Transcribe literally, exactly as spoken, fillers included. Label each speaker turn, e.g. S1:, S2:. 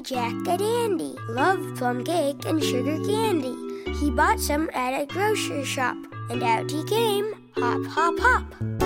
S1: Jack a dandy, loved plum cake and sugar candy. He bought some at a grocer's shop, and out he came, hop, hop, hop.